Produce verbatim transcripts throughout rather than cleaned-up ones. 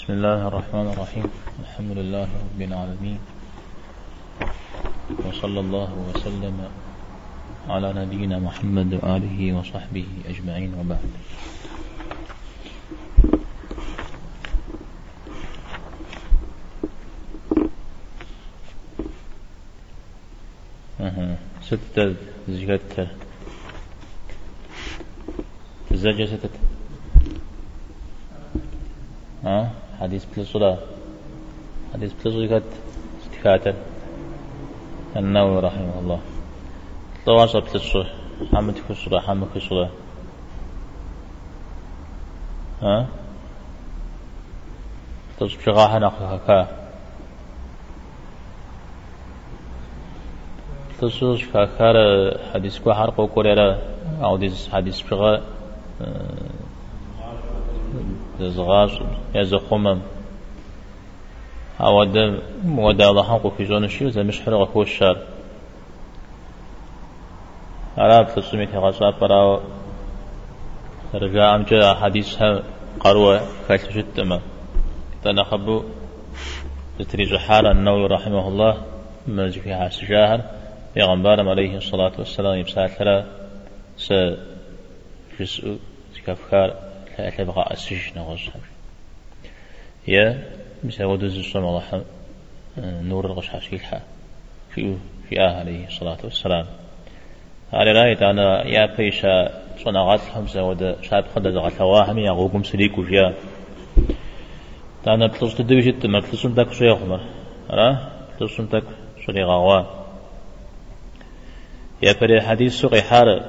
بسم الله الرحمن الرحيم. الحمد لله رب العالمين، وصلى الله وسلم على نبينا محمد وآله وصحبه أجمعين، وبعد. أه. ستة زكاة تزوج ستة ها حديث بلصلا حديث بلصلا زكاة استكاتة النووي رحمه الله تواصل بلصلا حمد كسلا حمد كسلا ها تصبغاها نقلها تصوص كاكار حديث كو حرق وكوريرا أو ديز حديث بغا زغاز يزخمم أو دم ودا الله حق في زون الشيء زي مش حرق هو الشر عرب تصمي كغصاب براو رجع أمجا حديثها قروة كايت جدما تنخبو تتريج حالا النووي رحمه الله مرجع فيها سجاهر پیغمبرم عليه الصلاة والسلام يبسات لها س جزء كافكار لا تبغى أسجن غصب يا مثل ودوز الصوم الله نور الغش حا في في آه عليه الصلاة والسلام على رأيت أنا يا بيشا صنعات خمسة وده شاب خد زغت واهم يا غوكم سليك وجيا أنا بتصل تدوي جد ما بتصل تك شيء خمر أنا بتصل تك شيء غوا يا فري حديث سقي حار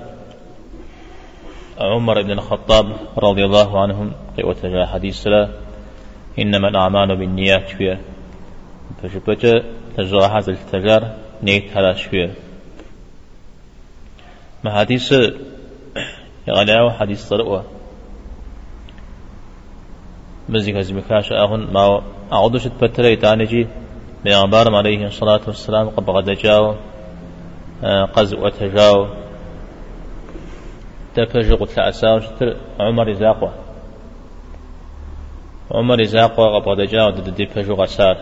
عمر بن الخطاب رضي الله عنهم وتجا حديث لا إنما الأعمال بالنيات شوية فشبت تجرى هذا التجار نيت هذا شوية ما حديث يغلى حديث طرقة مزيك زمكاش أهون ما أعودش تبتلي تانجي بأخبارهم عليه الصلاة والسلام قبل غد جاو قز وتجاو تفجق تأساو شتر عمر زاقوا عمر زاقوا قبل جاو ضد فجق سار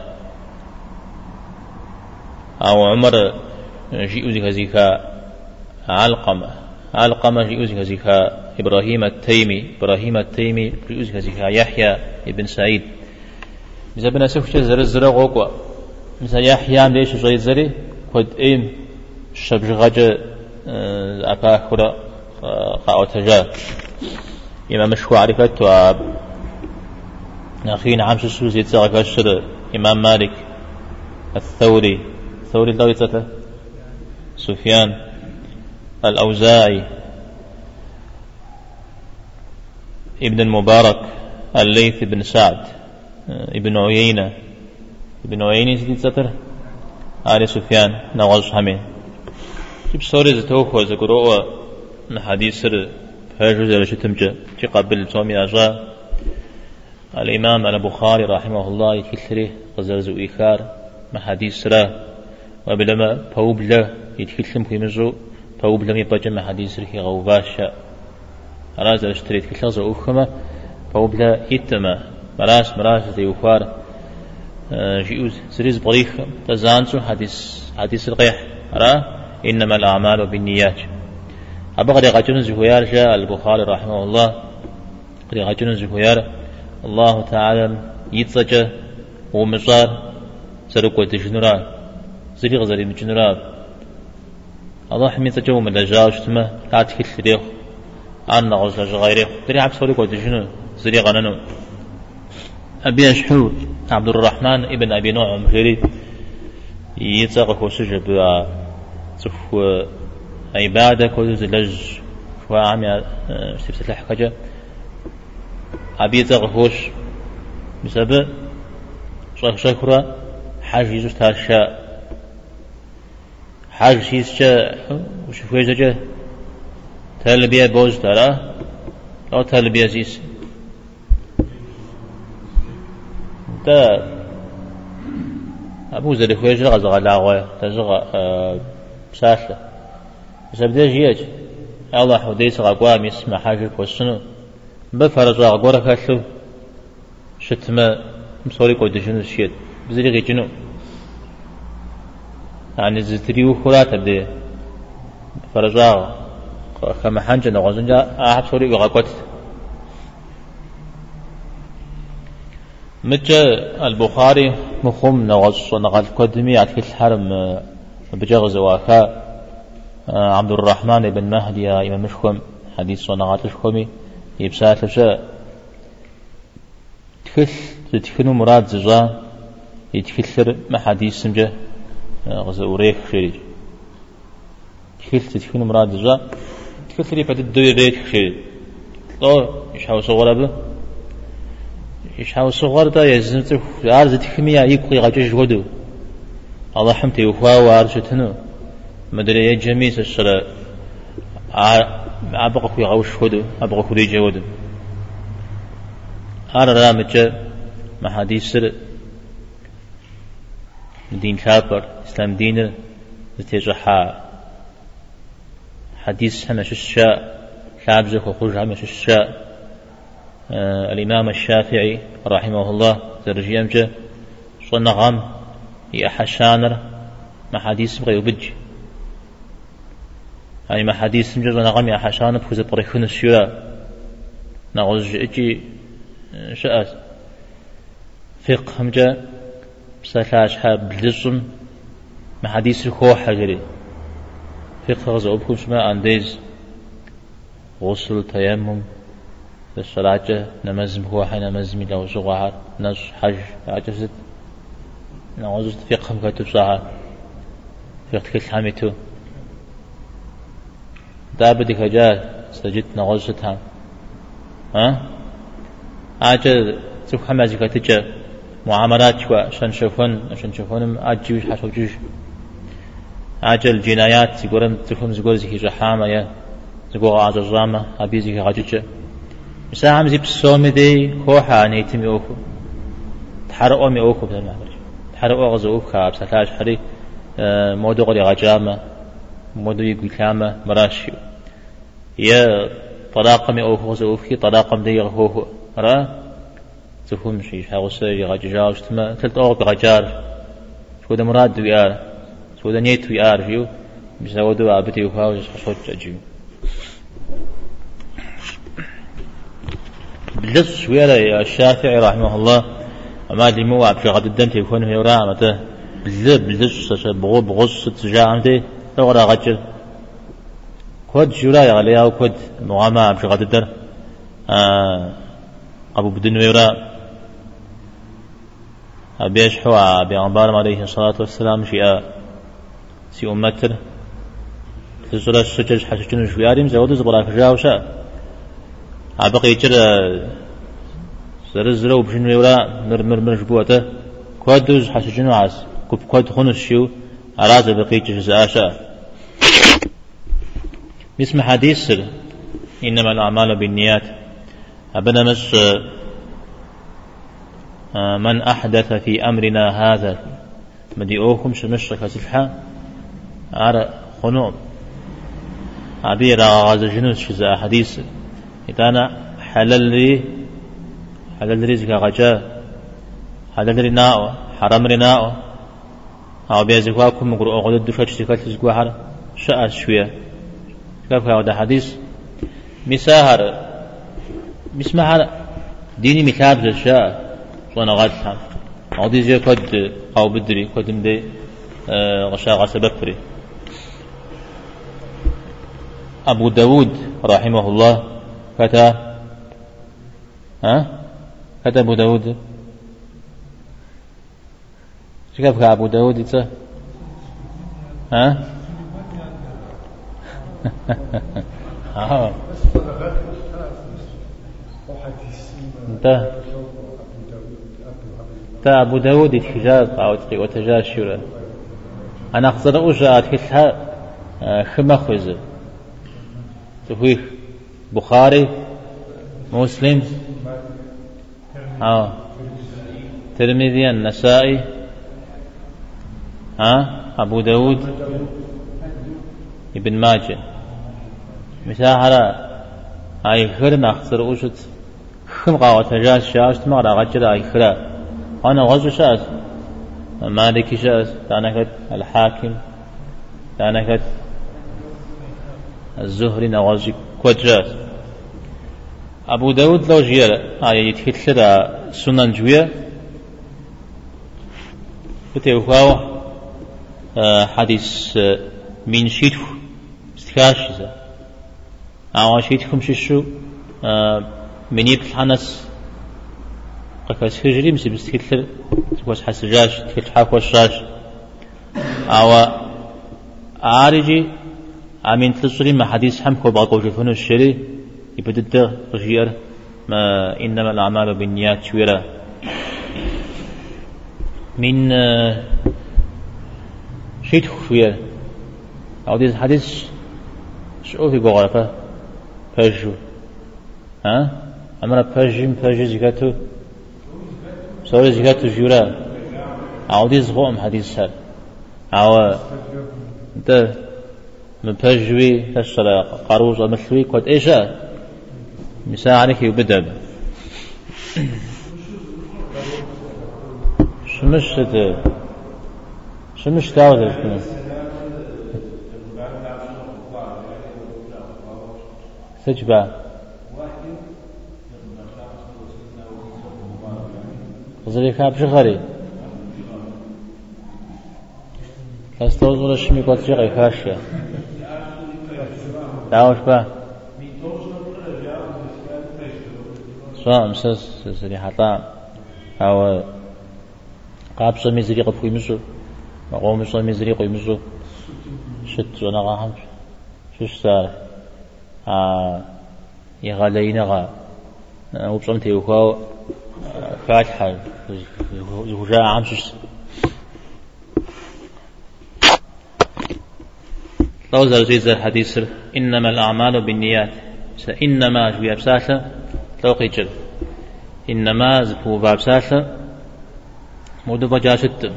أو عمر جيء زك زكا علقمة علقمة جيء زك زكا إبراهيم التيمي إبراهيم التيمي جيء زك زكا يحيى ابن سعيد إذا بنا سوف زر الزرق وقوا مثل يحيى ليش زي زري قد إيم شبجغج أباكرة قاوتجا إمام مشكو عرفت واب أخينا عام شسوز يتزغك الشر إمام مالك الثوري الثوري الدويتة سفيان الأوزاعي ابن المبارك الليث بن سعد ابن عيينة ابن عيينة سيدي آل سفيان نغز همين جب سوري زتوخو زقروء حديث سر فهجو زي لشتمجة قبل تومي أجا الإمام البخاري رحمه الله يتكثره غزرزو إيخار ما حديث سر وبلما فوبلا يتكثم في مزو فوبلا يبجم ما حديث سر كي غوباشا راز لشتري يتكثر زو أخما فوبلا يتما مراس مراس زي أخار جيوز سريز بريخ تزانسو حديث حديث القيح را إنما الأعمال بالنيات أبغى رجل زهيار جاء البخاري رحمه الله رجل زهيار الله تعالى يتسجى ومصار سرق وتجنرا زريغ زري مجنرا الله حمي تجى ومن لجاوش ثم لا تكل ريخ أنا غزل غيره تري عبد سرق وتجنر زريغ أنانو أبي أشحو عبد الرحمن ابن أبي نعم جري يتساق وسجى بها تفو عبادة كوز لج وعمي استفسر الحكاية أبي تغفوش بسبب شك شكرا حاج يزوج تاشا حاج شيسجا وشوفوا يزوجه تلبية بوز ترى أو تلبية زيس تا أبو زري خويج غزغ لاغوي تزغ ساشة بسبب جيج الله حديث غقوا مس محاجر كوسنو بفرج غقورة كشلو شتما مصوري قد شنو الشيء بزري غي جنو يعني زتريو خلا تبدي فرجاء كما حنجة نغزنجا أحب صوري وغاقوت متى البخاري مخوم نغز نغز قدمي عتك الحرم بجغز واكا عبد الرحمن بن مهدي يا إمام مشكم حديث صنعات الشكمي يبسات لشاء تكل تتكلم مراد زجا يتكلر ما حديث سمجة غز أوريك شريج تكل تتكلم مراد زجا تكلر يبدأ الدوي ريك شريج لو يشحو صغر به يشحو صغر دا يزمت عارض تكمية يبقي غجاج ودو الله حمتي وفا وارجتنو مدري يجميس الشراء أبغى خوي غوش خدو أبغى خوي جودو أنا رامج ما حديث سر دين كابر إسلام دين تجحا حديث هم ششاء كابزك وخرج هم ششاء آه الإمام الشافعي رحمه الله ترجيمج صنغام يحشانر ما حديث بغي يبج يعني ما حديث مجرد نغمي أحشان بخوز بريخون الشراء نغز اجي شأس فقه همجا بسلاش حاب بلزم ما حديث الخوح حجري فقه غزة أبكم شما أنديز غسل تيمم الصلاة نمزم خوحي نمزمي لو زغوحات نص حج عجزت نغز فقه مكتب صحة فقه كل حميتو دابدك جاء سجدت نغزتها ها أجل تفهم مازيك تجا معاملات شوا عشان شوفون عشان شوفونهم أجيوش حشوجوش أجل جنايات يقولون تفهم زقول زي جحامة يا زقول عجزامة أبي زي عججة مساهم زي بسوم دي خوحة نيتم يوكو تحرقوا ميوكو بدل ما أقول تحرقوا غزوك كاب ستاش حري مودو غري عجامة مودو يقول كامة مراشيو يا طلاقم أوفو زوفي طلاقم دي غفوه را تفهم شيء حاوسة يغجاج تما تلت أوق بغجار شو ده مراد ويار شو ده نيت ويار فيو بيسودوا عبتي وفاوز حصوت أجيو بلس ويلا يا الشافعي رحمه الله أما دي مو عبد غد الدم تكون في ورامته بلس بلس بغو بغص تجاعمتي تغرى غجر كود جوراي عليها وكود مغامة عبد غد الدر آه أبو بدن ويرا أبيش حوا بيعنبار عليه الصلاة والسلام شيء سي أمتر تزرع السجج حسجن شوياريم زود زبراك جاوشا عبقي جرا زرزرو بشن ويرا مر مر مر جبوته كودوز حسجن عاس كوب كود خنوس شيو عراز بقي جزاشا اسم حديث سر إنما الأعمال بالنيات أبدا مس من أحدث في أمرنا هذا مديئوكم شمشرك سفحا أرى خنوم عبير غاز جنوس شزاء حديث إذا حلل لي حلل رزق غجاء حلل لي ناء حرام لي ناء أو بيزقواكم مقرؤ غد الدفاش تكالت زقوحر شاء شوية كيف هذا حديث مساهر مسمع ديني مثال جشاء وانا غادها عادي زي كد أو بدري كدم دي غشاء سببري أبو داود رحمه الله كتا ها كتا أبو داود كيف أبو داود إنت ها ها انت تا أبو داود يتحجاز أو وتجاز شورا أنا أخذ أوجا أتحسها خما خوزة تفويخ بخاري مسلم ها ترمذي النسائي ها أبو داود ابن ماجه مساحرة أي خير نخسر أوجد خم قاوة تجاز شاشت ما رغجر أي خير أنا غزو شاس مالكي شاس تانكت الحاكم تانكت الزهري نغزي كود شاس أبو داود لو جيال آية يتكتل سنن جوية فتوكاو حديث من شيتو استكاشيزا أو شيتكم ششو من يبث حنس قكاس هجري مسي بستكتل تكوس حسجاج تكتل حاكو الشاج أو عارجي أمين تلصري ما حديث حمكو باقو جفنو الشري يبدد رجير ما إنما الأعمال بالنيات شويرا من شيء شوير أو ديز حديث شو في قرافة بيجو ها أمرا بيجيم بيجي زكاتو سوري زكاتو جورا أو ديز غوم حديث هذا أو ده من بيجوي تشترى قاروز ومثلوي قد إيشا مساء عليك يبدأ شمش ده شمش داود كنا سجبا قصدي كاب شغري كاستوز ولا شمي قد شغري كاشيا داوش با سواء مسس سري حطام أو قابس مزري قفوي مسو مقوم مسو مزري قوي مسو شت وأنا غاهم شش صار آه يغالينا غا وبصمت يوكاو فاتحة يوجا عام شش لو زال زيد الحديث إنما الأعمال بالنيات إنما جويا بساسة لو قيجل إنما زفو باب ساسة مودو بجا ستم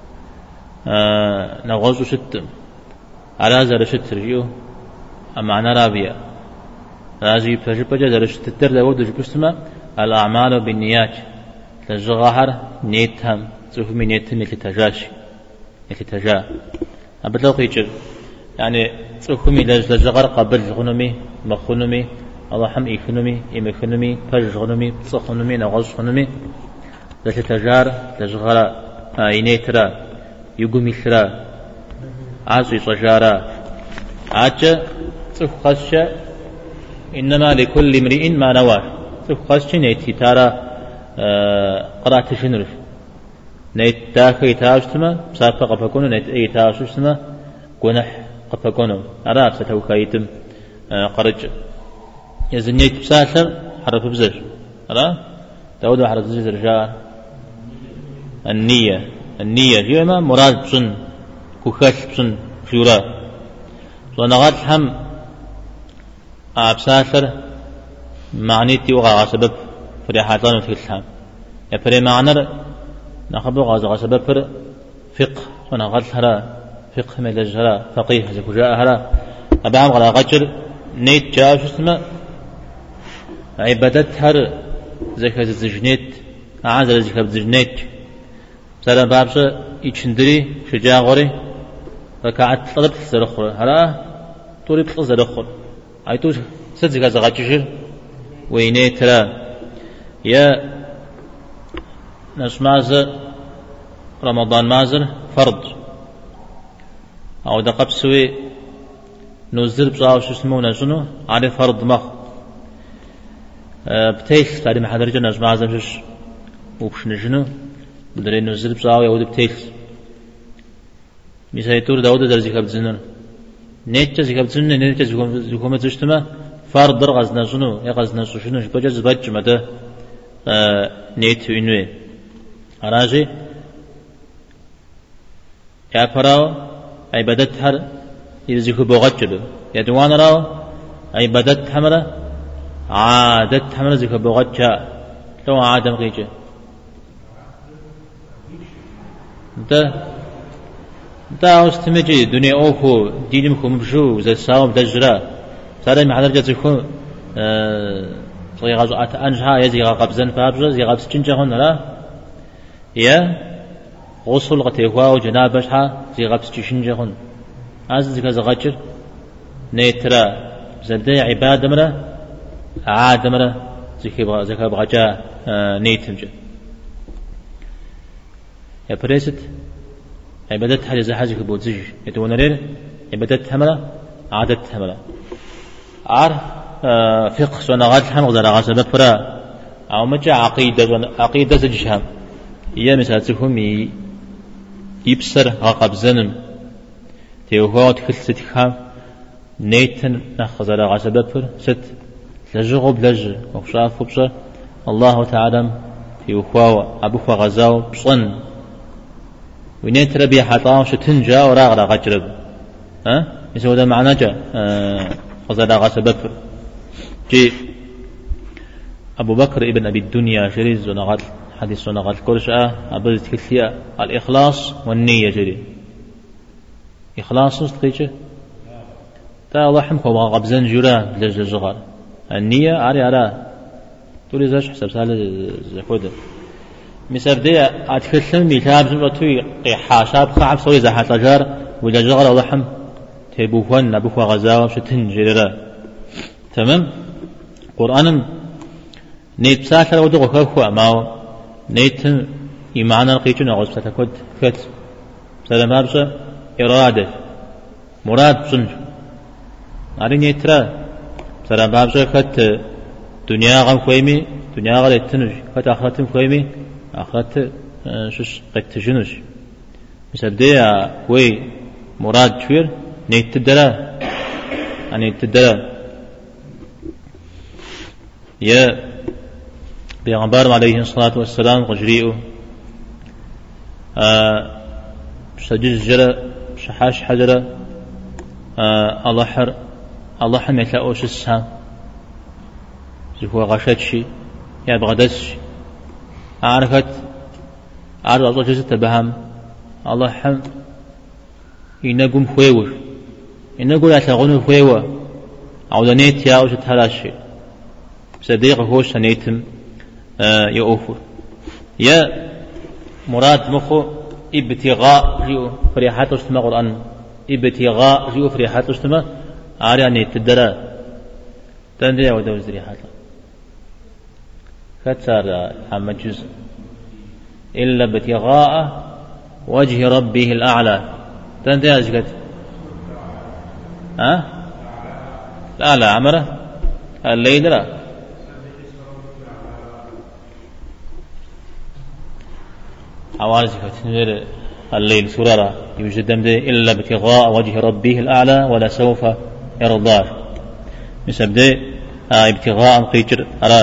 آه نغزو ستم على زر ستر يو أما أنا رابيا رازي بفجر بجا زر ستر داود جبستما الأعمال بالنيات للجغاهر نيتهم زفو من نيتهم يتتجاش يتتجا أبدا لو قيجل يعني زفو من للجغار قبل غنمي مخنمي الله حم إيخنمي إم إيخنمي فج غنمي صخنمي نغز خنمي لتتجار لجغرا إنيترا يقومي ثرا عزي صجارا عجة تفقسش إنما لكل امرئ ما نوى تفقسش نيتي تارا قرأت شنرف نيت داخل تاجتما بسافة قفكونو نيت أي تاجتما قنح قفكونو أراب ستوكايتم قرج يزنيت بساسر حرف بزر أرى داود حرف بزر رجاء النية النية جيما مراد بسن كوكاش بسن فيورا ونغات هم أبساسر معنيتي وغا سبب فريحاتان وتكلم يا فري معنر نخبو غا سبب فر فقه ونغات هرا فقه ملجرا فقيه زكجاء هرا أبعام غلا غجر نيت جاء شو اسمه عبادت هر زكاة الزجنيت عازل زكاة الزجنيت سلام بابش يشندري شجاع غوري ركعت طلب تزرخر هلا توري تزرخر أي تو سد زكاة زغاتشر ويني ترى يا ناس مازر رمضان مازر فرض أو دقب سوي نوزر بصاو شو اسمه نجنو على فرض مخ أه بتيس تعلم حضر جنا جماعة زمشش وبش نجنو بدري نوزر بصاو يهود بتيس مسايتور داود درزي كاب زنن نيتش زي كاب زنن نيتش زكوم زشتما فرض در غزنا جنو يا غزنا شنو بجز بج مده أه نيت وينوي أراجي يا فراو عبادت هر يزيكو بوغتشلو يدوان راو عبادت حمرة عادت حمرة زيكو بوغتشا لو عادم غيجي انت انت استمجي دنيا اوكو دينمكو مبشو زي الساوم دجرا سارة محضر جاتكو اه زي غازو انجها يزي غابزن فابزو زي غابس چنجا هون لا يا غسل قتيهوا وجنابة شحا زي غبس جيشن جهن أزز كزغجر نيترا زبدأ عبادة مرة عادة مرة زكي زكا بغجا نيتمجد يا بريست عبادتها لزحاجك بوزج يتونرير عبادتها مرة عادتها مرة عار فقه سونغات الحمد لله غاسبة فرا أو مجا عقيدة عقيدة زجهم يا مساتهم يبصر عقب زنم تيوهات خلصت خام نيتن نخزر غاسبة فر ست لجغب لج وشاف بصر الله تعالى تيوهوا أبوه غزاو بصن ونيت ربي حطام شتنجا وراغ غجرب ها يسوي هذا معناه جا غزا غاسبة فر جي أبو بكر ابن أبي الدنيا شريز ونغات حديث ونغات كرشة أبرز كثية الإخلاص والنية جري إخلاص نستقيشه تا الله حمكم وغبزن جرا لجل جغار النية عري على تولي زاش حسب سهل زخوده مسبب دي أتكلم ميتاب زمرتوي حاشاب خعب سوري زحات لجار ولا جغار الله حم تبوهن نبوه غزاوة شتن جرا تمام قرآن نيت بساطة ودغ خخوا ماو نيت إيمانا قيتنا غوز فتكود فت سلام أرجع إرادة مراد صنج أري نيترا سلام أرجع فت دنيا غم خويمي دنيا غل تنج فت آخرتم خويمي آخرت شش قد تجنج مسبدي وي مراد شوير نيت تدرا أني تدرا يا بيغمبار عليه الصلاة والسلام قجريئه آه شجج جرى شحاش حجرة آه الله حر الله حم يتلاقوش السهام زهو غشتشي يا بغدسش عارفت عارف الله جزء تبهم الله حم ينقم خويوش ينقول يتلاقون خويوه عودانيت يا وش تهلاشي صديق هوش سنيتم آه يؤفر يا مراد مخو ابتغاء جيو فريحات اجتماع القرآن ابتغاء جيو فريحات اجتماع عارياني تدرى تندرى ودوز ريحات كتر حمد جزء إلا ابتغاء وجه ربه الأعلى تندرى أزكت ها أه؟ لا لا عمره الليل لا عوارض فتنور الليل سرارة يوجد إلا ابتغاء وجه ربه الأعلى ولا سوف يرضاه مسبب آه ابتغاء قيجر أرى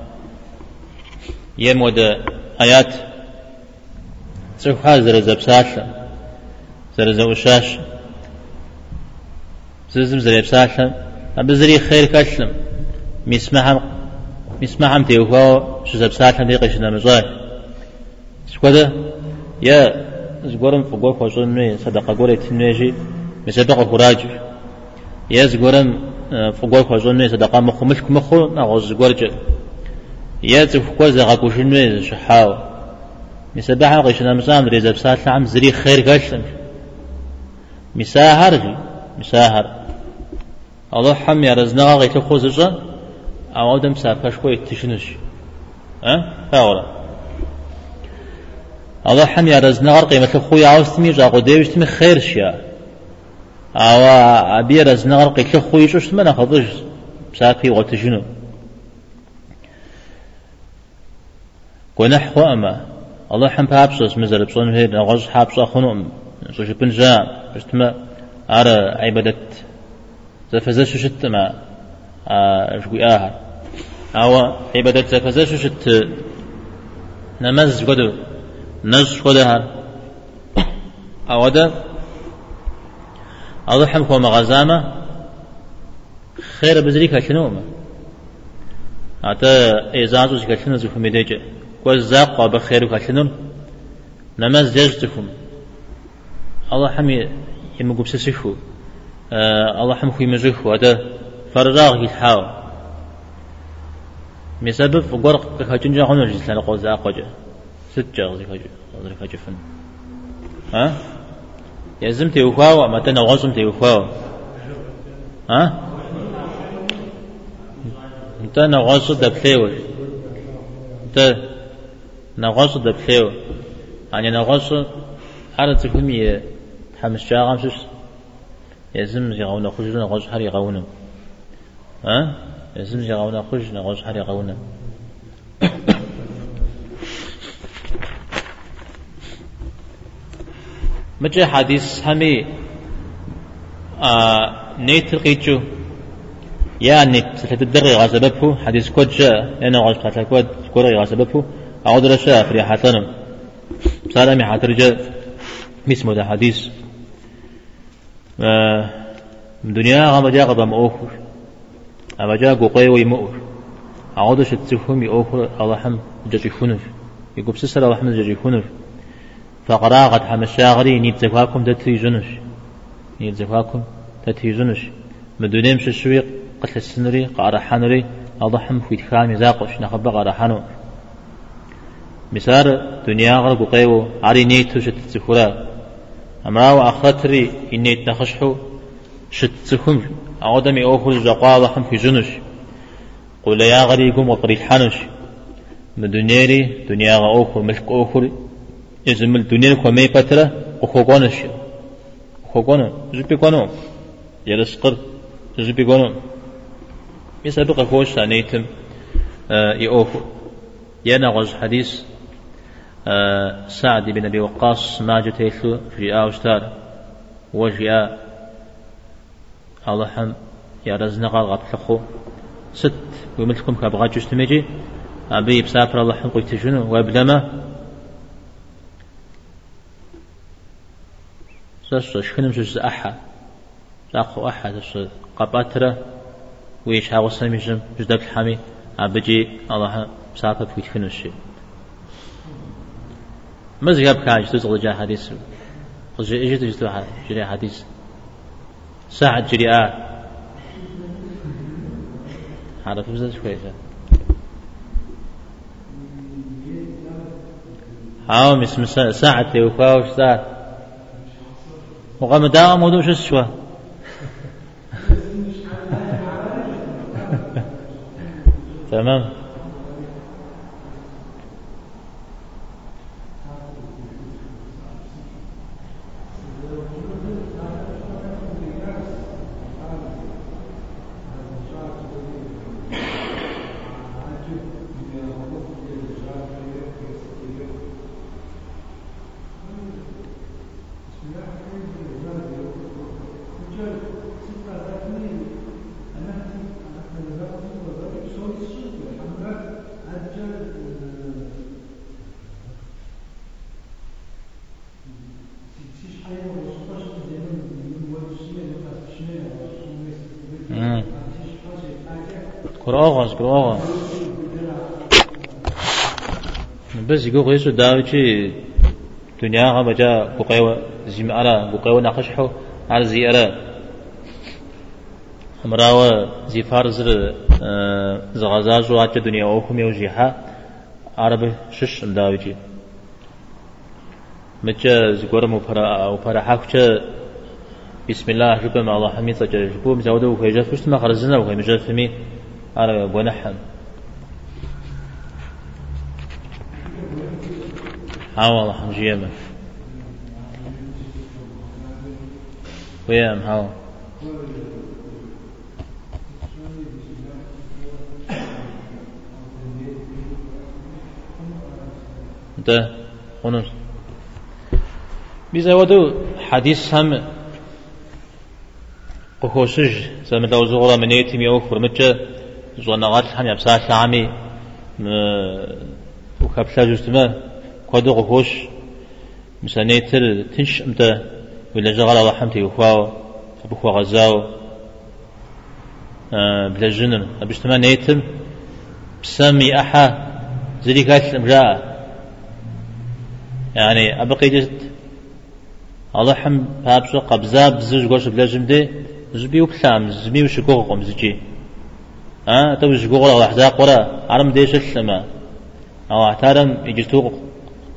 يمود آيات سوف زر زبساش زر زوشاش ززم زر زبساش أبزري خير كشلم مسمعهم مسمعهم تيوهو شو زبساش ديقشنا مزاج سكودا يا زغورم فوق خوشني صدقه غوريت نيجي مسدقه خراج يا زغورم فوق خوشني صدقه مخمش مخو نغوز زغورج يا زفكو زغاكوشني شحاو مسبحه قشنا مسام ريزب ساعه عم زري خير قشن مساهر مساهر الله حم يا رزنا غيت خوزجا او دم سافش كو يتشنش ها فاولا الله حم يا رزنا غير قيمه خويا عاوزتمي جاقو ديوشتمي خير شيا او ابي رزنا غير قيت خويا شوش ما ناخذش سافي وتشنو ونحو أما الله حم بابسوس مزر بصون هيد نغز حابس خنوم سوش بنجام بشتما على عبادة زفزش شت ما شوي آها أو عبادة زفزش شت نمز قدو نز قدها أو ده الله حم كوما غزامة خير بزريك شنوما أتا إزازوس كشنو زفو ميديجي وزاق بخير كاتنون نماز جزتكم الله حمي يمقب سسفو آه الله حمي يمزخو هذا فرزاق يتحاو مسبب فقرق كاتنجا هنا جزلنا قوزاق وجه ستة غزي كجفن ها يزم تيوخاو ما تنغصم تيوخاو ها انت نغص دبليو انت نغص دبليو يعني نغص على تفهمي حمس شاغم شش يزم يغون خرج نغص حري غون ها يزم يغون خرج نغص حري غون مجا حديث همي آه نيت القيتشو يا نيت تدري غاسببه حديث كود جاء أنا غاس قتل كود كوري غاسببه أعود رشا في حاتنا سلامي حاترجع مسمو ده حديث آه من دنيا غام جاء قبل مؤخر أما جاء قوي ويمؤر أعود شتفهم يؤخر الله حم جاي خنف يقول سسر الله حم جاي خنف فقراغت حمشاغري نيت زكاكم تتيجنش نيت زكاكم تتيجنش مدونيم ششويق قتل السنري قارحانري أضحم في تخامي زاقش نخبى قارحانو مسار دنيا غرق قيو عري نيت شتتسخرا أمراو أخرتري إنيت نخشحو شتتسخم أعودمي أوخر زقا ضحم في جنش قول يا غريقم وقريد حانش مدونيري دنيا غأوخر ملك أوخر إذن الدنيا كمي بترة أخوانش أخوان جبي قانون يلسقر جبي قانون يسبق خوش سانيتم آه يأوخو ينغز حديث آه سعد بن أبي وقاص ما جتيثو في آوستار وجاء الله حم يا رزنقا غطلخو ست وملكم كابغات جستمجي أبي بسافر الله حم قلت شنو وابلما سس شخنم شس أحد لاقو أحد سس قباترة ويش هاوسنا ميجم جدك الحمي أبجي الله مسافة في تفنشي مزجاب كاج تزغل جا حديث قصدي إيش تجتوا جري حديث ساعة جريئة هذا فوزة كويسة هاو مس ساعة يوفاوش ساعة وقام داوم ودوش السوا تمام كراغاز كراغا بس يقول يسوع داوتشي دنيا غا بجا بقيوة زيم على بقيوة ناقشحو على زيارة مراوة زي فارزر زغازاز واتش دنيا أوكم يوجيها عربي شش داوتشي متى زقور مفرا أو فرا حكش بسم الله ربنا مع الله حميد سجل جبوا مزوده وخيجات فشت ما خرجنا وخيجات فمي على بنحم ها والله حمجيمة ويام ها ده ونص بيزودو حديث هم قخوشج زمن لو زغرا من يتم يوفر متى زونا غات هم يبسات عامي وكبسا جستما قدو قخوش مسانيتر تنش امتى ولا جغل الله حمتي يوفاو أبوخوا غزاو بلا جنن أبشتما نيتم بسامي أحا زريكات الامرأة يعني أبقي جست الله حم بابشو قبزاب بزوج قوش بلا جمدي زبي وبلام زبي وشكوغ قوم زجي ها تو شكوغ الله حزاق ورا عرم ديش السما أو اعتارم يجتوغ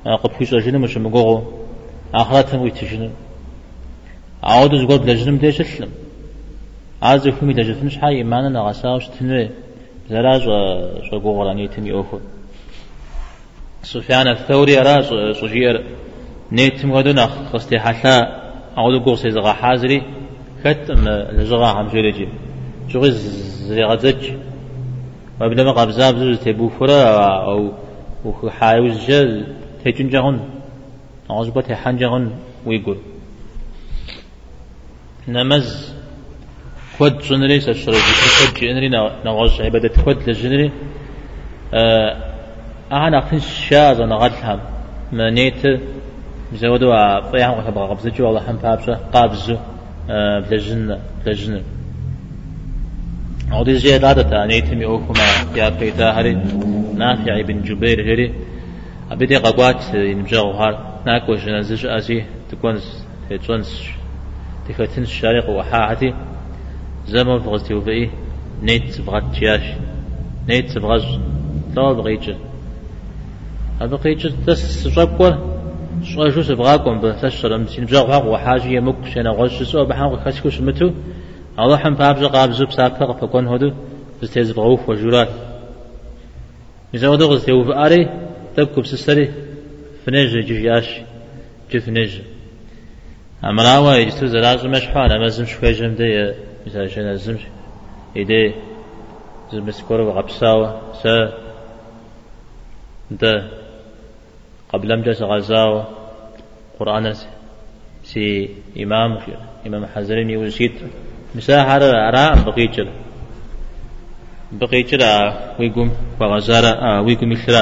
قبحوش أجنم مش مقوغو آخراتهم ويتجنم عودز قرب لجنم ديش السلم عازو فمي دجفنش حي إيمانا نغساوش تنوي زراج شقوغ راني تمي أوخو سفيان الثوري راج صجير نيتم غدنا خستي حسا عودو قوغ سيزغا حازري كتم لزغا حمجولجي شغي زيغزج وابنما قبزاب زوز تبو فرا أو وحايوز جل تيجون جهون عزبة تيحان جهون ويقول نمز كود جنري سشري كود جنري نغش عبادة كود لجنري أنا أخنش شاز أنا غدهم ما نيت زودوا فيهم وتبغى قبزج والله هم بابسه قابزه بلجنة بلجنة عودي زي دادة نيتمي أوكما يا بيتا هري نافع بن جبير هري أبدي قوات ينجاو هار ناكو جنازج أزي تكون تونس تفتن الشارق وحاحتي زمان فغزتي وفئي نيت بغات جياش نيت بغز لا بغيتش أبغيتش تس شابكور شو شو سبغاكم بتشر مسين بجاو وحاجة يمك شنا غش سو بحاول خشكوش متو الله حم بابز قابز بساكر فكون هدو بستيز بغوف وجورات إذا ودو غزتي وفئاري تبكو بسسري فنج جياش جفنج أمراوا يجتو زراج مشحان أمازم شوي جمدي مثلا شنا زمش إيدي زمسكور وغبساوة سا ده قبل أمجس غزاوة قرآن سي إمام إمام حزرين يوزيت مساحة أراء بقيتر بقيتر ويقوم وغزارة ويقوم إثراء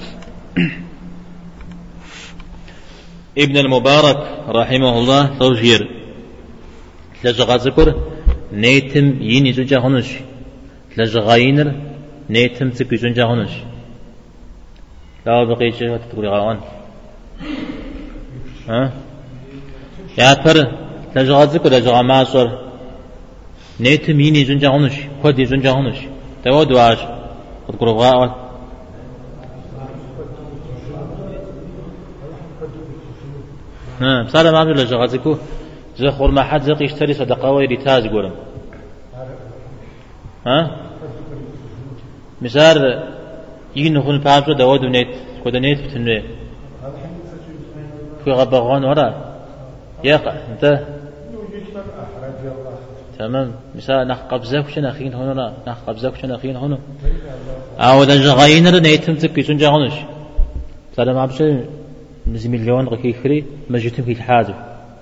ابن المبارك رحمه الله توجير لجغا ذكر نيتم يني زنجا هنش لجغاينر نيتم تكي زنجا هنش لا بقيتر وتتقولي غاوان ها يا تر لجغا ذكر لجغا معصر نيتم يني زنجا هنش خودي زنجا هنش تود واش تقولي غاوان ها بصار ما بيقول لجغازكو زي خور ما حد زق يشتري صدقة ويريتاز يقولن ها مسار يجي نخون بابجو دواد ونيت كودا نيت بتنوي في غبغان ورا يقع انت تمام مسار نخ قبزك وش نخين هنا نخ قبزك وش نخين هنا أو ده جغاينر نيتم تكيسون جاهونش صار ما بيش نزي مليون غكي خري ما جيتم في الحاجة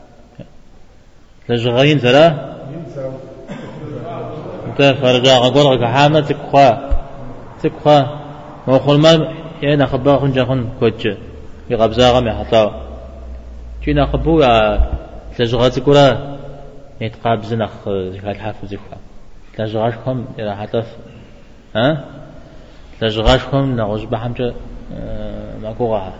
لجغاين زرا انت فرجع غقول غك حامة تكخوا تكخوا ما خل ما يعني خبا خن جاهون كوتش يقبزا غم يحطا كنا خبو لجغات كورا يتقابز نخ زكاة حافظ زكوا لجغاشكم إلى حتف ها لجغاشكم نغوش بحمجة ما كوغاها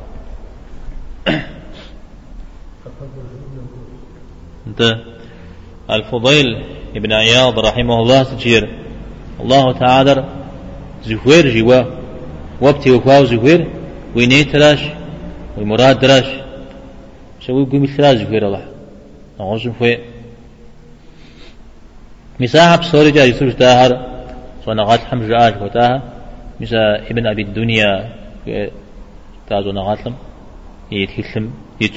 انت الفضيل ابن عياض رحمه الله تجير الله تعالى زهير جوا وابتي وكاو زهير وينيت راش ومراد دراش شو يقول مثل زهير الله نعوزم فيه مساحة بصوري جاي يسوش داهر صنعات حمج آج وتاها مسا ابن أبي الدنيا تازو نغاتلم يتكلم يج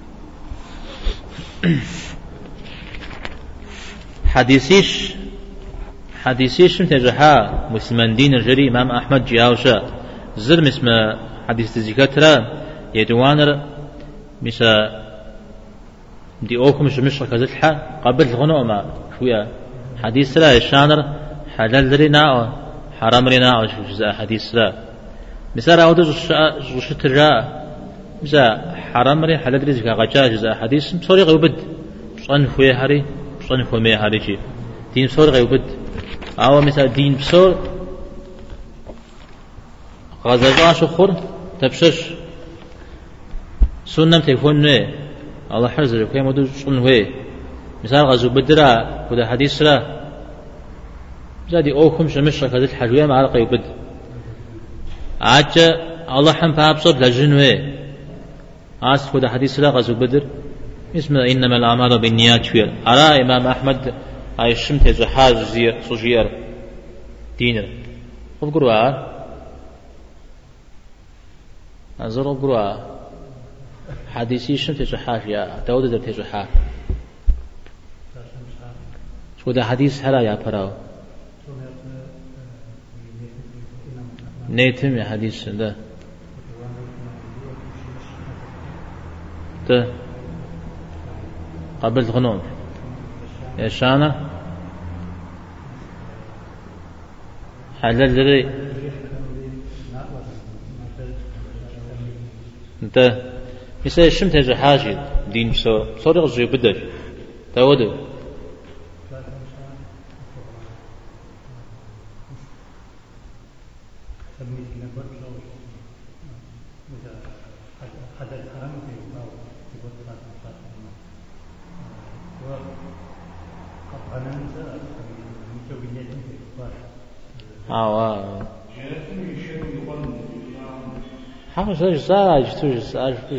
حديثيش حديثيش تجحا مسلمان دين الجري إمام أحمد جاوشا زر اسم حديث الزكاة يدوانر مسا دي أوكم شمش كذلها قبل الغنوة ما شوية حديث لا الشانر حلال لنا حرام لنا جزء حديث لا مسا رأود جوش ترجع مسا حرام ري حلال رزق غجاج جزء حديث صوري غيبد صن خوي هاري صن خوي مي هاري شيء دين صور غيبد أو مسا دين بصور غزاج شخور تبشش سنة تكون نه الله حرزه كي مدو صن هوي مثال غزو بدرا كده حديث لا زادي أوكم شمش كذا الحجوية مع غيبد عجّ الله حم بابصر لجنوه آس خود حديث لا غزو بدر اسمه إنما الأعمال بالنيات فير على إمام أحمد أي شمت زحاج زير صجير دينر وبقروا أنظر وبقروا حديثي شمت زحاج يا داود در تزحاج شو ده حديث هلا يا براو نيتم يا حديث ده ده قبلت غنوم يا شانا حلال دري انت مثل الشمت هذا حاجة دين سو صورة زي بدر تودو آه حاجة زي زاج توج زاج توج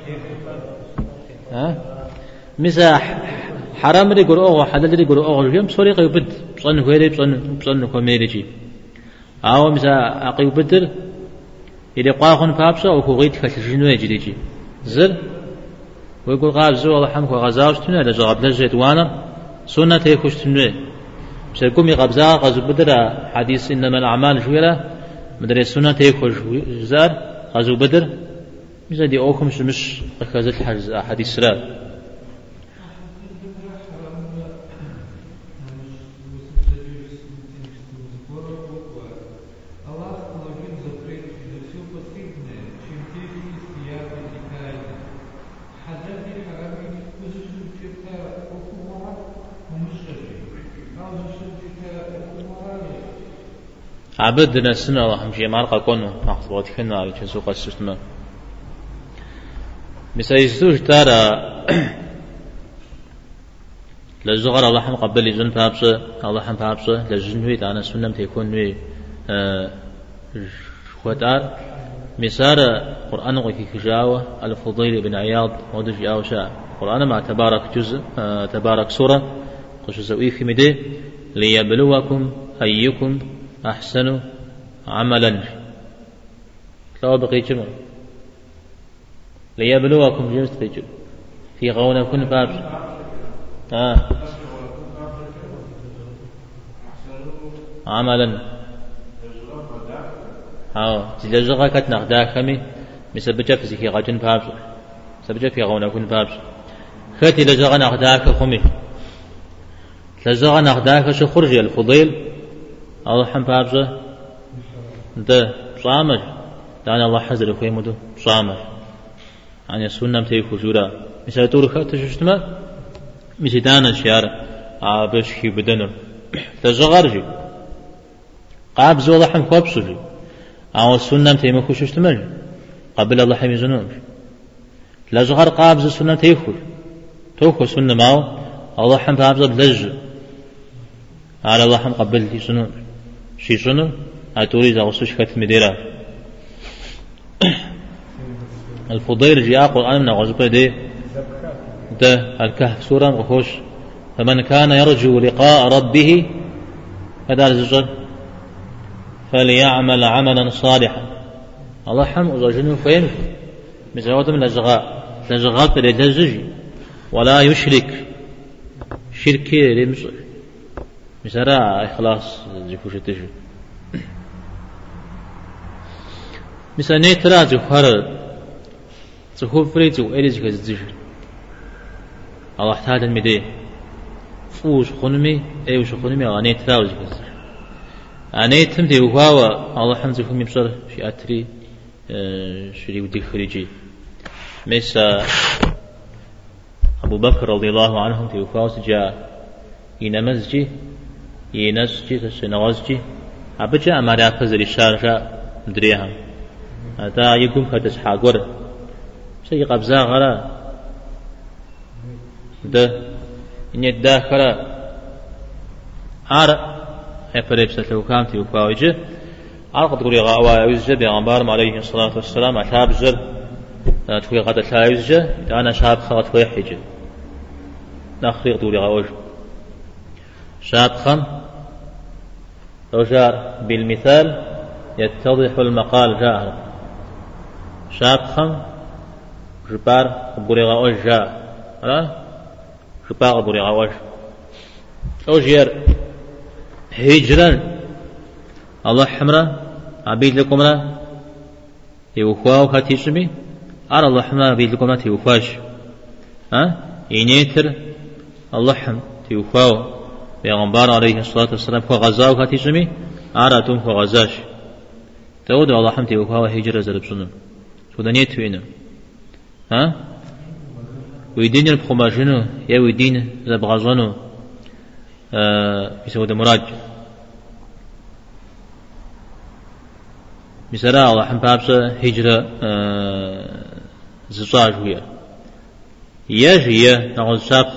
ها مزاح حرام اللي يقول أوه حلال اللي يقول أوه اليوم سوري قيبد بصن هويري بصن بصن كوميريجي أو مزا قيبدر إذا قاخن فابسا أو كوغيت كتجنو يجريجي زر ويقول غاز الله حمك وغزاوش تنا لجرب لجيت وانا سنة تيكوش تنوي سيقوم يقبزا غزو بدر حديث إنما الأعمال شويرة مدري سنة تيكوش زار غزو بدر مزا دي أوكم مش أكازت حديث سرار عبدنا السنة الله همشي مارقا كونه نحصبات كنا على سوق السوستما مسايستوش تارا لزغر الله هم قبل يزن فابسه الله هم فابسه لزنوي تانا سنم تيكون وي خوتار مسار قرآن وكي كجاوة الفضيل بن عياض ودج ياوشا قرآن ما تبارك جزء تبارك سورة قش زوي في مدي ليبلوكم أيكم أحسن عملا لو بقي جمع ليبلوكم جنس تجل في غونا كن باب آه. عملا هاو تلزغا كتنخ داخمي مسبجة في زكي غاجن باب سبجة في غونا كن باب خاتي لزغا نخ داك خمي لزغا نخ داك شو خرج الفضيل الله حم بابزه ده صامر دانا الله حزر خيمده صامر عن السنة تيكو جورا مثل تور خات ششتما مثل دانا شيار عابش كي بدنه تزغرجي قابز الله حم خبصجي عن السنة تيمكو ششتما قبل الله حم يزنون لزغر قابز السنة تيكو توكو سنة معه الله حم بابزه بلج على الله حم قبل يزنون شي شنو أتوري زغسوش كتم ديرا الفضيل جاء قرآن من غزبة دي ده الكهف سورة غخوش فمن كان يرجو لقاء ربه هذا الزجر فليعمل عملا صالحا الله حم أزاجنه فين مزاوة من الزغاء الزغاء تلتزج ولا يشرك شركي لمصر مسرا إخلاص زكوش تجو مثلا نترا زخر زخور فريزو إليز كزتجو الله احتاج المدي فوش خنمي أيوش خنمي أنا نترا وزكوز أنا يتم دي وهوا الله حمد زكوم يبصر في أتري شري ودي خريجي مثلا أبو بكر رضي الله عنه في وفاة جاء ينمزجي ينسجي تسنغزجي أبجا أمارا فزر الشارجة مدريها هذا يقوم كتس حاقور شيء قبزا غرا ده إن يداخل عار هفريب ستلو كامتي وكاوجه عرق تقولي غاوا يوزج بيغمبار عليه الصلاة والسلام أتاب زر توي قد تلايزجة أنا شاب خاط توي حجة نخريق دوري غاوج شاب خم لو جار بالمثال يتضح المقال جاهر شاب خم جبار بوري غاوج جاء ها جبار بوري غاوج أو جير هجرا الله حمرا عبيد لكم لا يوخواو كاتيشمي أرى الله حمرا عبيد لكم لا تيوخواش ها ينيتر الله حم تيوخواو بيغمبار عليه الصلاة والسلام خو غزاو كاتيشمي أرى توم خو غزاش تود الله حم تيوخواو هجرا زرب سنم سودانيت وينم ها ويدين البخماجنو يا ويدين زبغازونو آه يسود مراج مثلا الله حم بابسه هجرة آه زصاج ويا يجي نقول ساق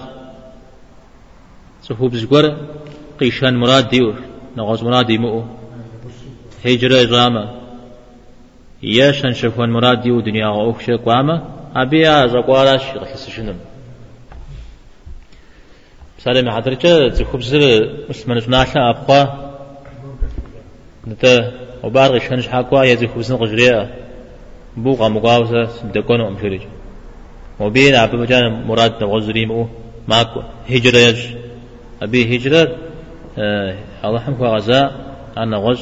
سحوب زقر قيشان مراد ديور نقول مراد يمو هجرة إزامة يشان شفون مراد ديو دنيا أوكش قامة أبيا زقوالاش رخص شنو سالم حضرتك زخوب زر مسمن ناشا أبقى نتا وبارغ شنش حقوا يزخوب زن قجريا بوقا مقاوسة دكون أمشرج وبين أبي مجان مراد نغزريمو ماكو هجرة يج أبي هجرة آه الله حمك غزاء أنا غز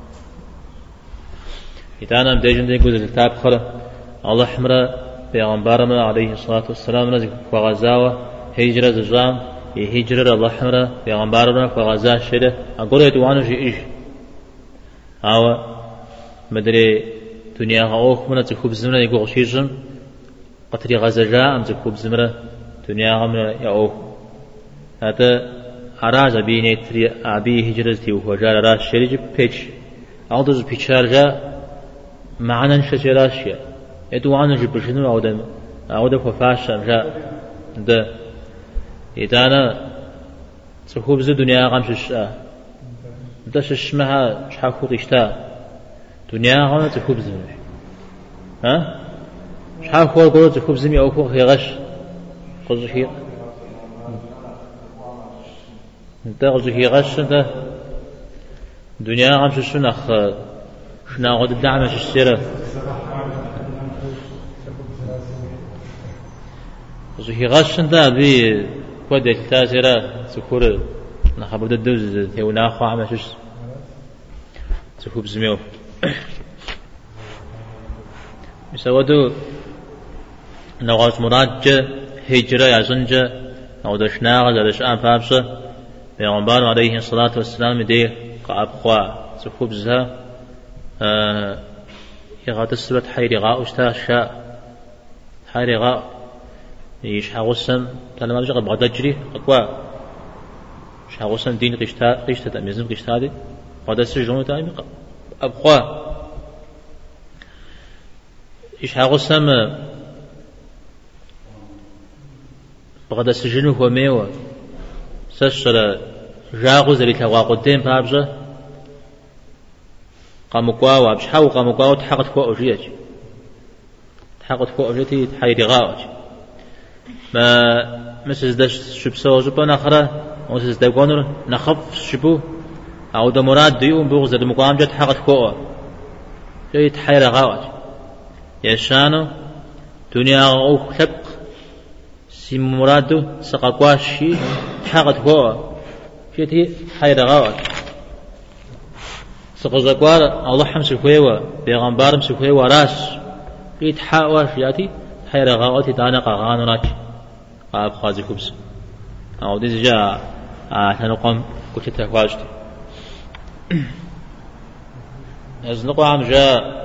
إتانا مديجن دي قد الكتاب خلا الله حمرا بيغمبارنا عليه الصلاة والسلام رزق وغزاوة هجرة زجام هجرة الله حمرا بيغمبارنا وغزاء شده أقول يتوانو شيء إيش أو مدري دنيا غاوخ من تخوب زمرة يقول شيء قتري غزجاء أم تخوب زمرة دنيا غمرة يأوخ هذا أراج أبي نتري أبي هجرتي وهجار راش شريج بيتش أوضز بيتشار جاء معنا نشجراشيا يدوانو جبرشنو أودا أودا ففاشا جاء ده إذا أنا تخوب زي دنيا غمش الشاء داش اسمها شحال خطيشتا دنيا غانا تخوب زمي ها شحال خور قول تخوب زمي أو خور خيغش قصد خيغ انت قصد خيغش انت دنيا غامش السنخ شنا غد الدعمش السيرة قصد خيغش انت بي ودك تاسرة سكور نخبر الدوز تيونا خو عمشش تخوب زميو مسودو نغاز مراد جا هجرة يعزن جا نغاز شناغ زالش آن فابسة بيغنبار عليه الصلاة والسلام دي قاب خوا تخوب زها آه يغاد السبت حيري غاء اشتا شاء حيري غاء يش حاغسم تانا ما بجغل بغدا جري أقوى شاغسم دين قشتا قشتا تأميزم قشتا دي بغدا سجنو تأمي أبقى إيش حاغسم بغدا سجنو هو ميوة سشر جاغو زري تغوا قدام بابجة قاموا قواوا بشحاو قاموا قواوا تحقت فوق أجيج تحقت فوق أجيتي تحيري غاوج ما مسز داش شبسو جبو نخرة مسز داقونر نخف شبو أو دا مراد ديوم بغز دا مقام جات حقت فوق جاي تحيري غاوج يشانو دنيا غاو خلق سي مرادو سقاقواشي حقت فوق جيتي حيري غاوج سقزقوار الله حمس خويوا بيغمبار مس خويوا راس قيت حاواش ياتي حيرة غاوتي دانا قاغان راك قاب خازي خبز أو دي جاء تنقم قلت تكواجتي أزنقوا عم جاء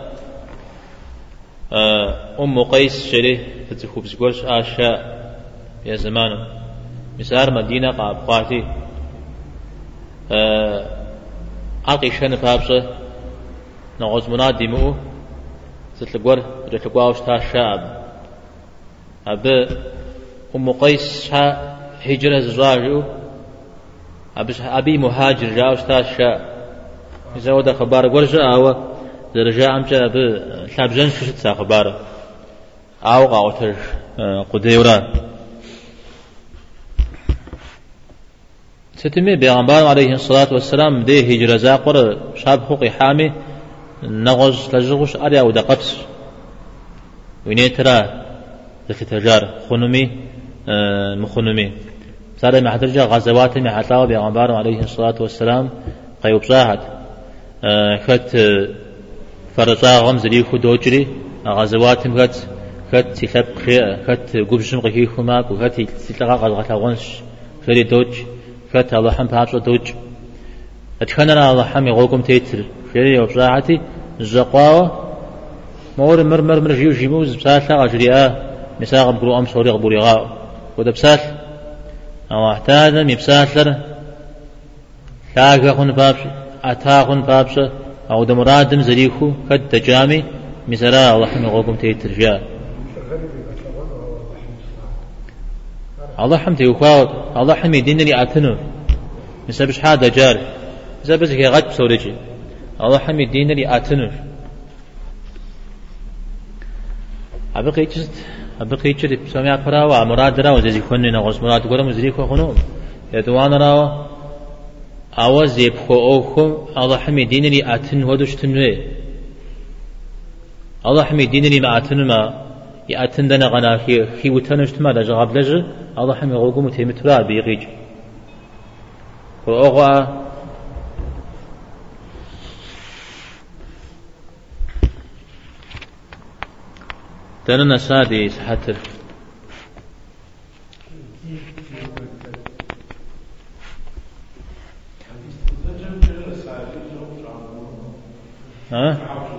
أم قيس شريه تتخبز قولش آشاء يا زمانه مسار مدينة قاب قاتي أقي شن فابسة نغز منادي مو ستلقور رتلقواوش تا شاب أب أم قيس شا هجرة زواجو أبي مهاجر جاوش تا شاب إذا ودا خبار قرجة أو درجة أمجا أب شاب جن ششت سا خباره أو قاوتر قديورا ستمي بيغمبار عليه الصلاة والسلام دي هجرة زاقر شاب خوقي حامي نغز لجغش أريا ودقبس وينيترا ذكي تجار خنمي مخنمي صار مع درجة غزوات مع حتلاوة بيغمبار عليه الصلاة والسلام قيوب صاحت كت فرزا غمز ليكو دوجري غزوات مكت كت تلاب خير كت قبشم قهيكو ماك وكت تلقى غزغة غنش خيري دوج كت الله حم بابس دوج أتخننا الله حم يغوكم تيتر خيري وبصاحتي الزقاوة مور مر مر مر جيو جيموز بسالة غجرياء مساق بقرو أم سوري غبوري غاو وده بسال أو احتاج مبسالر لاقا خن بابس أتا خن بابس أو دمرادم زريكو كد تجامي مسرا الله حم يغوكم تيتر جاء الله حم تيوخاو الله حم يدينني أتنو مسبش حادا جار مسبش هي غد بسوريجي الله حم يدينني أتنو أبقي جست أبقي جست بسمع براوا مراد راو زي كوني نغص مراد قرم زريكو خنوم يدوان راو أواز يبخو أوكم الله حمي دينني أتن ودوش تنوي الله حمي دينني ما أتن ما يأتن دنا غنا خي خي وتنشت ما لجغاب لج الله حمي غوكم تيمترا بيغيج وأغوا تننا سادي سحتر ها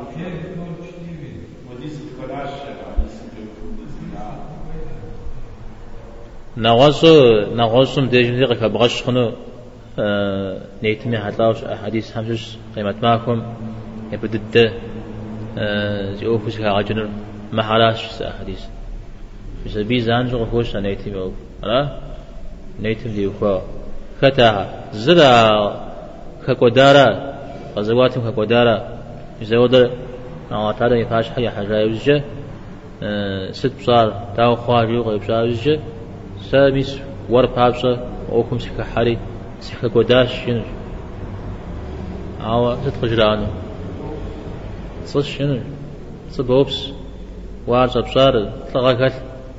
نغصو نغصم ديجن ذيك بغش خنو نيتمي حتلاوش حديث همشش قيمة معكم يبدد زيوفوس كاجنر ما حلاش حديث بس بيزان جو خوش نيتمي او لا نيتم ديوكو كتاها زرا كقدارا غزواتهم كقدارا يزودر أو تعالى يفاش حيا حاجة يوجه ست بصار تاو خواجو غيب بصار يوجه ساميس ور بابسة أوكم سكة حري سكة قداش شنو أو ست خجرانو صش شنو صبوبس وارس بصار تلقاكل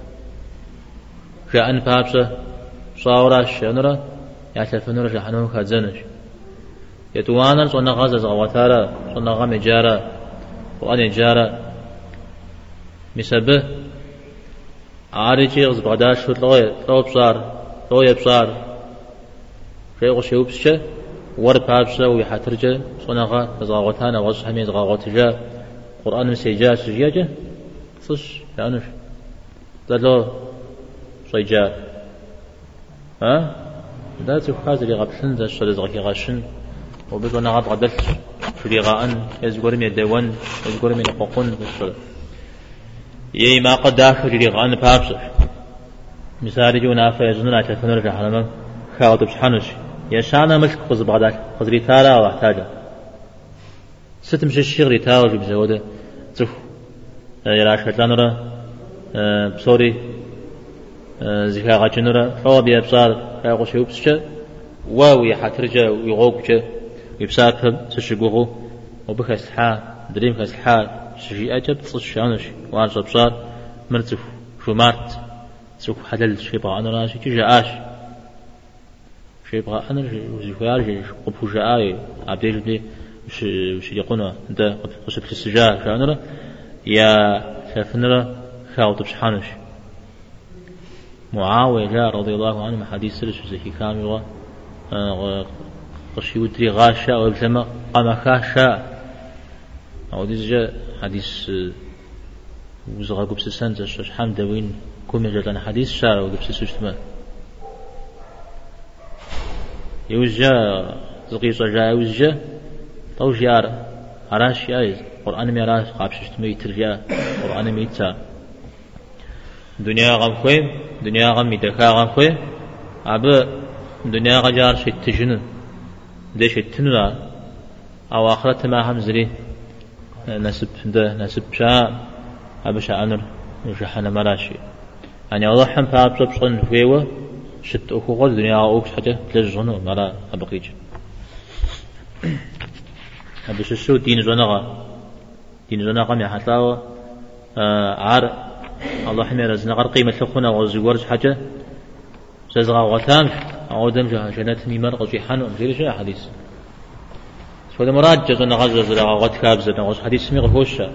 جاءن بابسة صاوراش شنورا يعتفنور جحنون كاتزنش يتوانا صنع غازة غواتارا صنع غام جارا وأنا جارا مسبه عارجي غز بغداش شو لغي لغي بصار لغي بصار شيء غشيو بسشة ور بابسة ويحترجة صنع غا غواتانا غز حميز غواتجا قرآن مسيجا سجيجا صش لأنش لالو صيجا ها دا تفخاز اللي غبشن دا الشرز غكي غاشن وبدو نغاد غدلت فريغان يزغور من الدوان يزغور من الققون بالصلاة يي ما قد داخل فريغان بابس مثال جونا فيزننا تفنر في حرم خاطب بسحنش يشانا ملك قز بغداد قز ريتالا واحتاجا ستمشي الشيغ ريتالا جب زوده تف يراش لانرا بصوري زكا غاجنرا فوا بيبصار خاغو شوبسچ واوي حترجا ويغوقچ يبساكم سشقوغو وبخس حا دريم خس حا شجي أجب تصشانش وارجع بصار مرتف شو مارت سوق حلل شيء بقى أنا راشي كي جاش شيء بقى أنا وزيفارج قبو جاي عبدي جدي وش وش يقولنا ده قصة السجاع شانرا يا شافنرا خاوت بشحانش معاوية رضي الله عنه حديث سرش زكي كامل قشي ودري غاشا وبسما قام خاشا أو ديجا حديث وزغا قبس سنة شحام دوين كم يجلنا حديث شارع وقبس سجتما يوجا زغي صجا يوجا طوجيار عراش يايز قرآن ميراش قابش شتما يترجا قرآن ميتا دنيا غم خويم دنيا غم يدكا غم خويم عبا دنيا غجار شي تجنن ديش التنرى أو آخرت ما هم زري نسب ده نسب شاء أبشا أنر جحنا مراشي يعني الله حم باب بشن فيوا شت أخو قل الدنيا أوكس حتى تلجنو مرا أبقيج أبش الشو دين جنغا دين جنغا مي حتلاو عار الله حمي رزنا غير قيمة لخونا وزوارج حاجة سازغا وغتام عودم جها جنات ميمار قجي حانو مزير شيء حديث سوى مراد جزنا غزة زرا غت كابزة نغز حديث مي غفوشة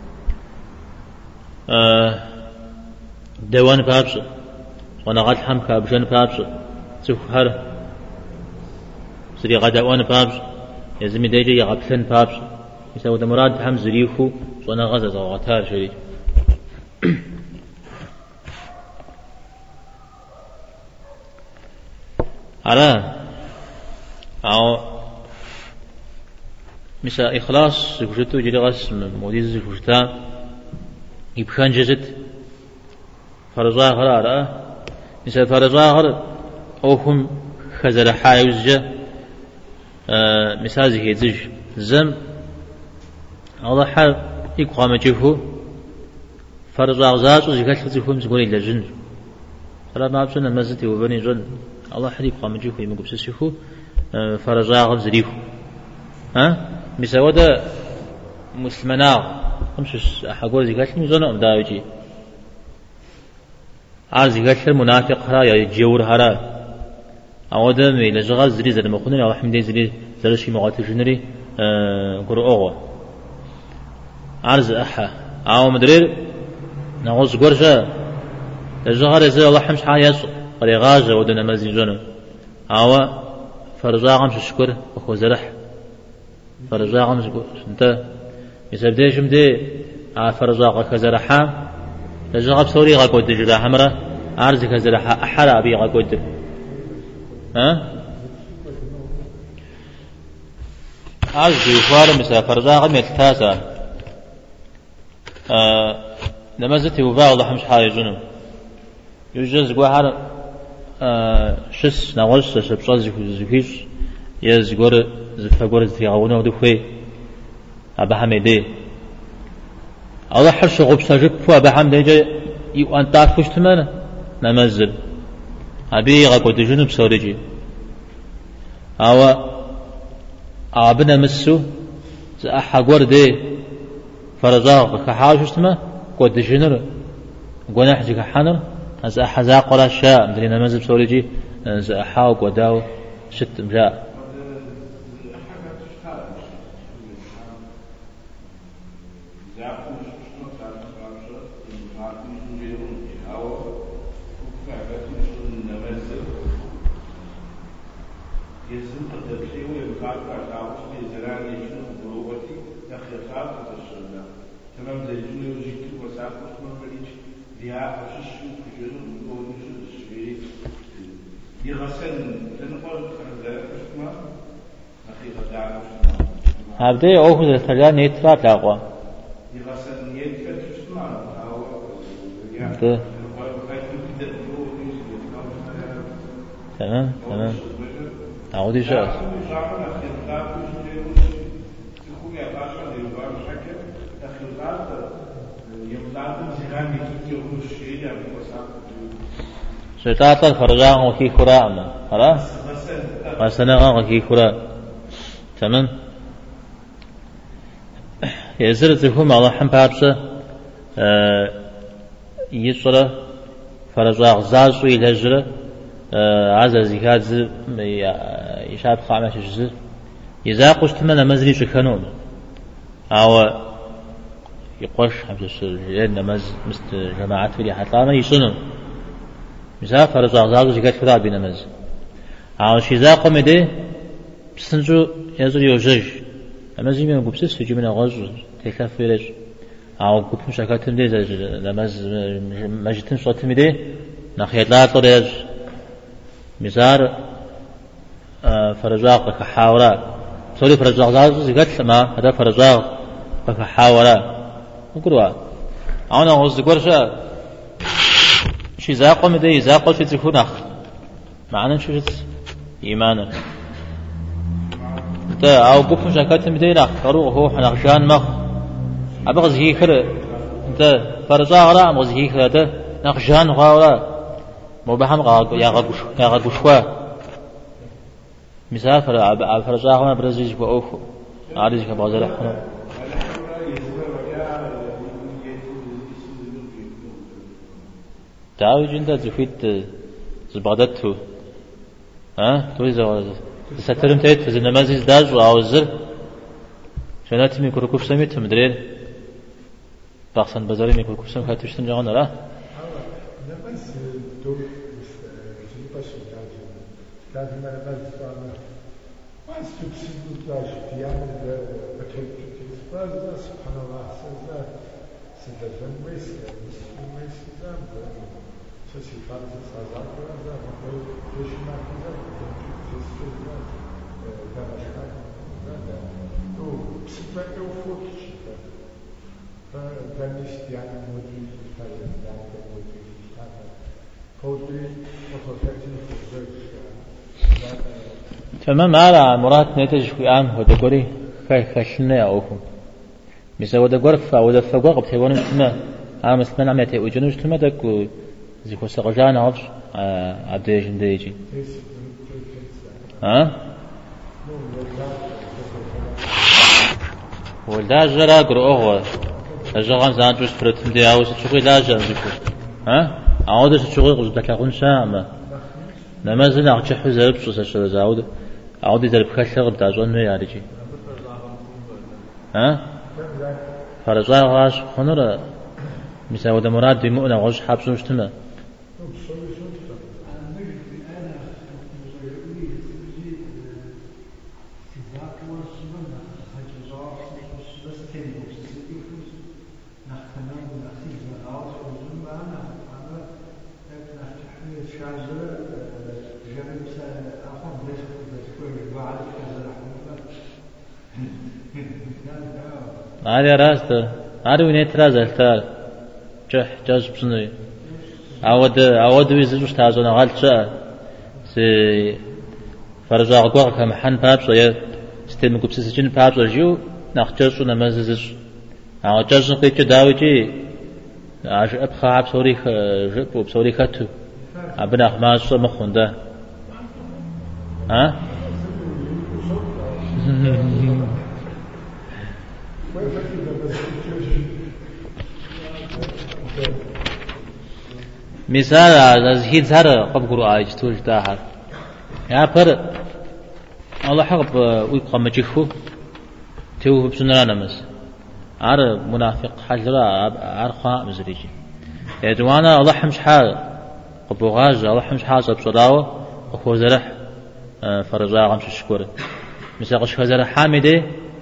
دوان بابس وانا غت حم كابجن بابس سفر سري غدوان بابس يزمي ديجي يغبلن بابس يسوى مراد حم زريخو وانا غزة زرا غتار شريك على أو مثل إخلاص زوجته جل غس موديز زوجته يبخان جزت فرزا غرارة مثل فرزا غر أوهم خزر حايوز آه مثال زي زج زم الله حال يقام جفه فرزا غزاز وزكاة زفهم زقولي لجن فلا ما بسنا مزتي وبني جن الله حديق قام جيخو يمكن بسسيخو فرزا غب زريخو ها مسودا مسلمنا خمس حقول زكاة ميزانا أمداوجي عار زكاة المنافق هرا يا جيور هرا أودا مي لجغال زري زر مخونري الله حمدي زري زرشي مغاتي جنري قرؤ أغوى عرز أحا أو مدرير نغوز قرشا لجغال زر الله حمش حايس قريغاجة ودنا مزيجنا أو فرزاقم شكر أخو زرح فرزاقم شكر أنت يسبديش مدي على فرزاق كزرحا لجغب سوري غاكود جلا حمرة عرض كزرحا أحرى أبي غاكود ها عرض يفار مثل فرزاقم يتتاسى آه نمزتي وفاء الله حمش حالي جنم يجوز قوة آه شس نغش شبصاز زكيش يزغور زفغور زيغونه دخوي ابا حميدي الله حرش غب سجب فو ابا حميدي يو ان تعرفش تمانا نمزل ابي غاكو جنوب سوريجي او ابنا مسو احا غوردي فرزاق كحاجش تما كود جنر غناح جك حنر از أحزا قرا شاء مدرينا مزب سوريجي از أحاوك وداو شت مجاء هبدي أوه الثلاثة نيترا تلاقوا. تمام تمام. أعودي شاء. شتاتا فرجان وكي خراء ما خلاص وسنغا وكي خراء تمام يزر تفهم الله حم بابسه يصرا فرجاء زاز ويلجر عز زكاة يشاب خامش الجزء إذا قشت من مزري شكنون أو يقش حمش لأن مز مست جماعات في حتى ما يصنون مثال فرجاء زاز زكاة فراد بينمز أو شيء قم ده بسنجو يزر يوجج أما زي ما نقول بس في جملة غاز تكلف فيرج أو قلت مش أكتم ده لمز مجتن صوت مده نخيط لا تريج مثال فرجاء كحاورة سوري فرجاء زاز زكاة ما هذا فرجاء كحاورة نقولوا أنا غاز قرشة شيء زاقم ده زاقل شيء تكون أخ معناه شو إيمانا تا أو بكم شكات مدينة خروق هو حنقشان مخ أبغى زهي خير تا فرجع غرا مزهي هذا نقشان غاورا مبهم غا يا غا يا غا غشوا مسافر ع فرجع غرا برزيج بأوفو عارج كبازر حنا تعاوي جندا زفيت زبادته ها تويزا سترم تيت في النماذج داج وعاوزر شنات ميكرو كوفسميت مدري باخسن بازاري ميكرو كوفسم خاتشتن جانا لا تمام على مراد نتج في عام هذا قري خشنا أوهم مثل هذا قرف أو هذا فوق بتهون ما عام سمعنا عم يتي وجنوش تما دكو زي خص رجعان عرش عبديش نديجي ها ولا جرا قرأه الجرام زانجوش فرتم دي عاوز تشوفي لا جانجوش ها عاود تشوفي قصد تلاقون شامة لما زين أخشى حزب بس أشتري زاود عاود يزرب خشة بتاع جون ما يارجي ها فرجع غاش خنورة مثل هذا مراد بمؤنة غاش حبسون شتمه هذا راسته هذا وين ترازل تار جح جاز بسنوي عود عود ويزوج تازونا غالشة سي فرجع قوة كم حن بابس ويا ستيم كوبس سجن بابس وجيو نختارش ونمازج عود جاز نقيت داويجي عش أبخا عب سوري جب وبسوري خاتو عبنا خماس شو مخونده ها مثال از هیچ زهر قبقرو آیج توش داهر یا پر الله حق وی قام جيخو تو بسنرا نمس عار منافق حجرا عار خاء مزريجي يدوانا الله حمش حال قبوغاج الله حمش حال بصداوه اخو زرح فرجا غمش الشكور مثال قش زرح حامده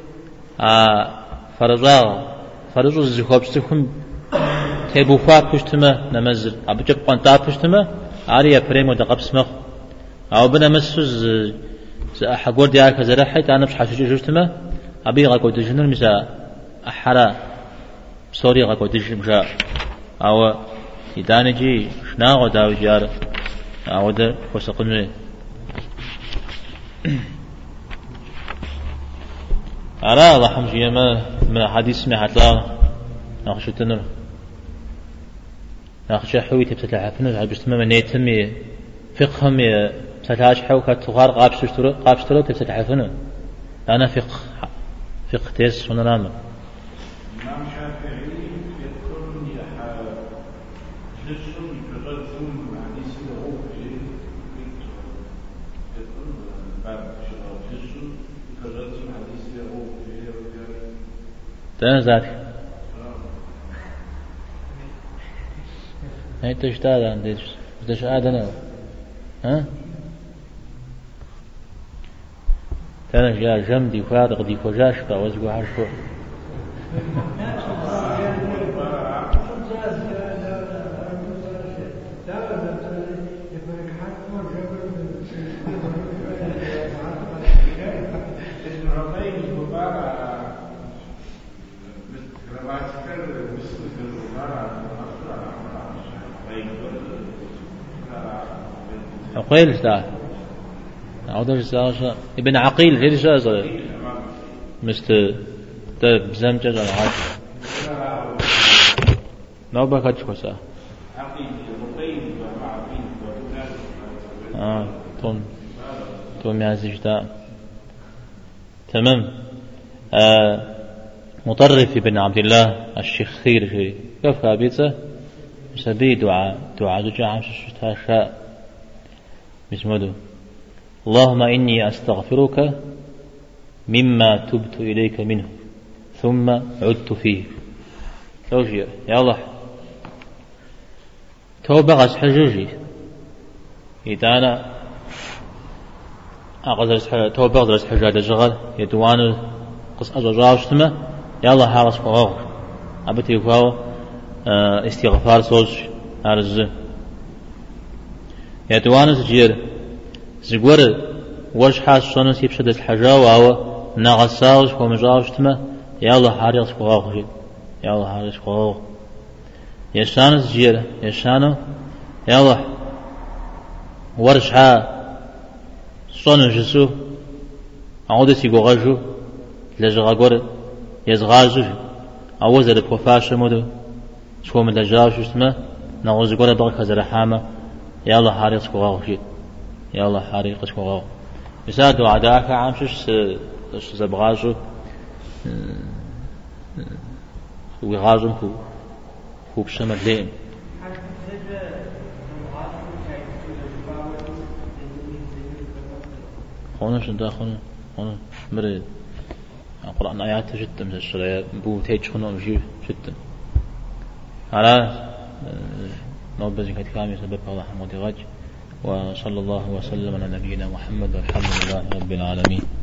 فرجا فرجو زخوب سكم تبو فا پشتمه نماز ابجب قنطا پشتمه عاريه بريمو دقبس مخ او بنا مسوز حقور ديار كزرحت انا مش حاشو جوجتمه ابي غاكو دجنر مسا احرا سوري غاكو دجمجا او يدانجي شناغو داو جار او ده وسقنه على الله حمجي ما من حديث ما حتلا ناخشو تنر ناخش حوي تبتلع فنو هاي بس ما نيتمي فقهم تلاش حو كتغار قابش تشترو قابش تلو تبتلع فنو أنا فقه فقه تيس هنا نام تنزل هاي تشتاد عندي تشتاد أنا ها تنا جا جمدي فارغ دي فجاش فوزقوا عشوا عقيل ذا عودة في ابن عقيل غير جاز مست ده بزم جاز على عاد نوبة كتشوسا آه تون تون يازجتا تمام. آه مطرف بن عبد الله الشخير في كيف بيته سبي دعاء دعاء دعاء شتاشاء بسمده اللهم إني أستغفرك مما تبت إليك منه ثم عدت فيه. توجي يا الله توبة غس حجوجي إذا أنا أقدر توبة غس حجاج الجغل يدوان قص أجراوشتما يا الله حارس فوق أبتي فوق استغفار صوج هرز يدوان زجير زجور وش حاس صنوس يبشد الحجا وهو نغساوش ومجاوشتما يا الله حارس فوق يا الله حارس فوق يشانو زجير يشانو يا الله ورشها صنو جسو عودتي غوغاجو لجغاغور يزغاجو أوزر بوفاش مودو شو من لجاوش اسمه نغوز غور بغك زرحامه يا الله حارس فوق يا الله حارس فوق يسادو عداك عامشش زبغاجو ويغازم هو هو بشمل لين خونه شندا خونه خونه مريض القرآن آيات جدا من الشريعة بو تيج خونه مجيب جدا على نوبة كانت كامل سبب الله حمد غج وصلى الله وسلم على نبينا محمد والحمد لله رب العالمين.